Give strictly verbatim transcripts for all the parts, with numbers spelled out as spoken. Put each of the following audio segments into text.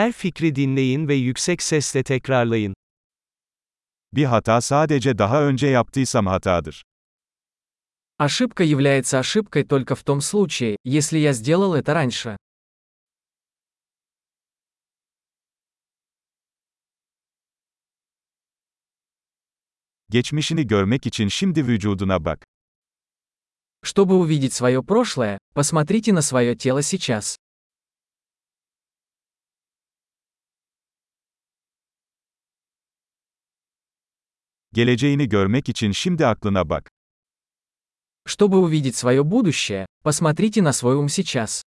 Her fikri dinleyin ve yüksek sesle tekrarlayın. Bir hata sadece daha önce yaptıysam hatadır. Ошибка является ошибкой только в том случае, если я сделал это раньше. Geçmişini görmek için şimdi vücuduna bak. Чтобы увидеть свое прошлое, посмотрите на свое тело сейчас. Geleceğini görmek için şimdi aklına bak. Чтобы увидеть свое будущее, посмотрите на свой ум сейчас.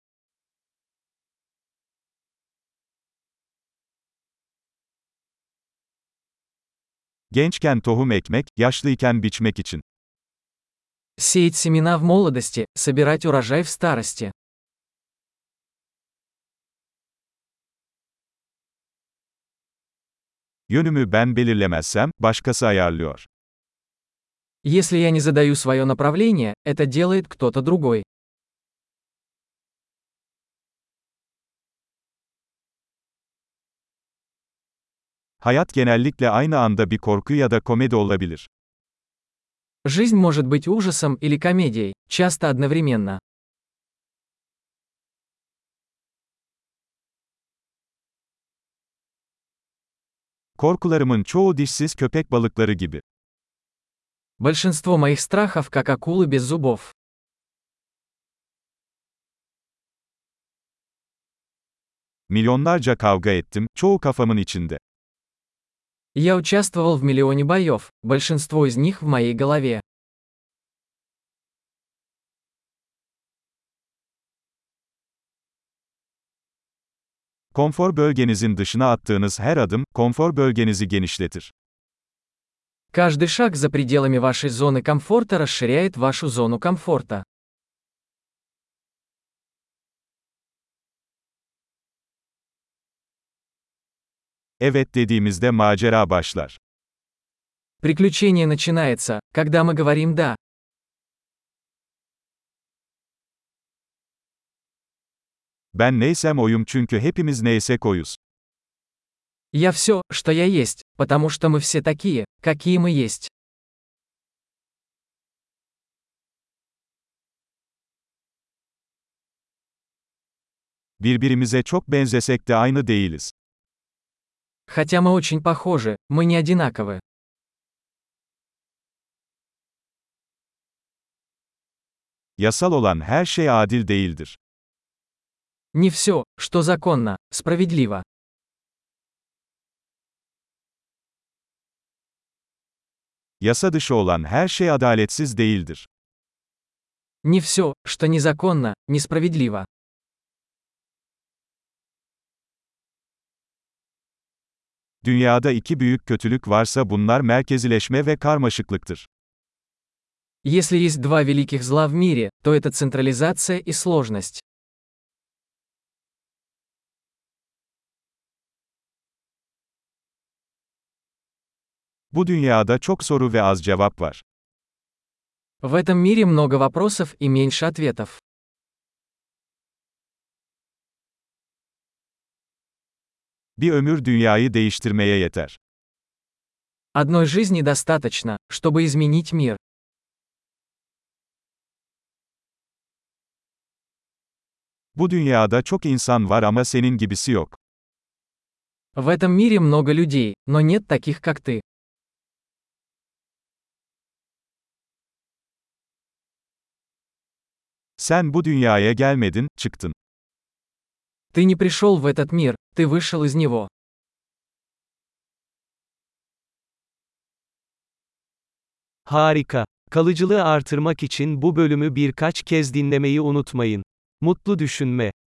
Gençken tohum ekmek, yaşlıyken biçmek için. Сеять семена в молодости, собирать урожай в старости. Yönümü ben belirlemezsem, başkası ayarlıyor. Если я не задаю свое направление, это делает кто-то другой. Hayat genellikle aynı anda bir korku ya da komedi olabilir. Жизнь может быть ужасом или комедией, часто одновременно. Korkularımın çoğu dişsiz köpek balıkları gibi. Большинство моих страхов как акулы без зубов. Milyonlarca kavga ettim, çoğu kafamın içinde. Я участвовал в миллионе боев, большинство из них в моей голове. Konfor bölgenizin dışına attığınız her adım, konfor bölgenizi genişletir. Каждый шаг за пределами вашей зоны комфорта расширяет вашу зону комфорта. Evet dediğimizde macera başlar. Приключение начинается, когда мы говорим «да». Ben neysem oyum çünkü hepimiz neysek oyuz. Я все, что я есть, потому что мы все такие, какие мы есть. Birbirimize çok benzesek de aynı değiliz. Хотя мы очень похожи, мы не одинаковы. Yasal olan her şey adil değildir. Не все, что законно, справедливо. Yasa dışı olan her şey adaletsiz değildir. Не все, что незаконно, несправедливо. Dünyada iki büyük kötülük varsa bunlar merkezileşme ve karmaşıklıktır. Если есть два великих зла в мире, то это централизация и сложность. Bu dünyada çok soru ve az cevap var. В этом мире много вопросов и меньше ответов. Bir ömür dünyayı değiştirmeye yeter. Одной жизни достаточно, чтобы изменить мир. Bu dünyada çok insan var ama senin gibisi yok. В этом мире много людей, но нет таких, как ты. Sen bu dünyaya gelmedin, çıktın. Ты не пришел в этот мир, ты вышел из него. Harika. Kalıcılığı artırmak için bu bölümü birkaç kez dinlemeyi unutmayın. Mutlu düşünme.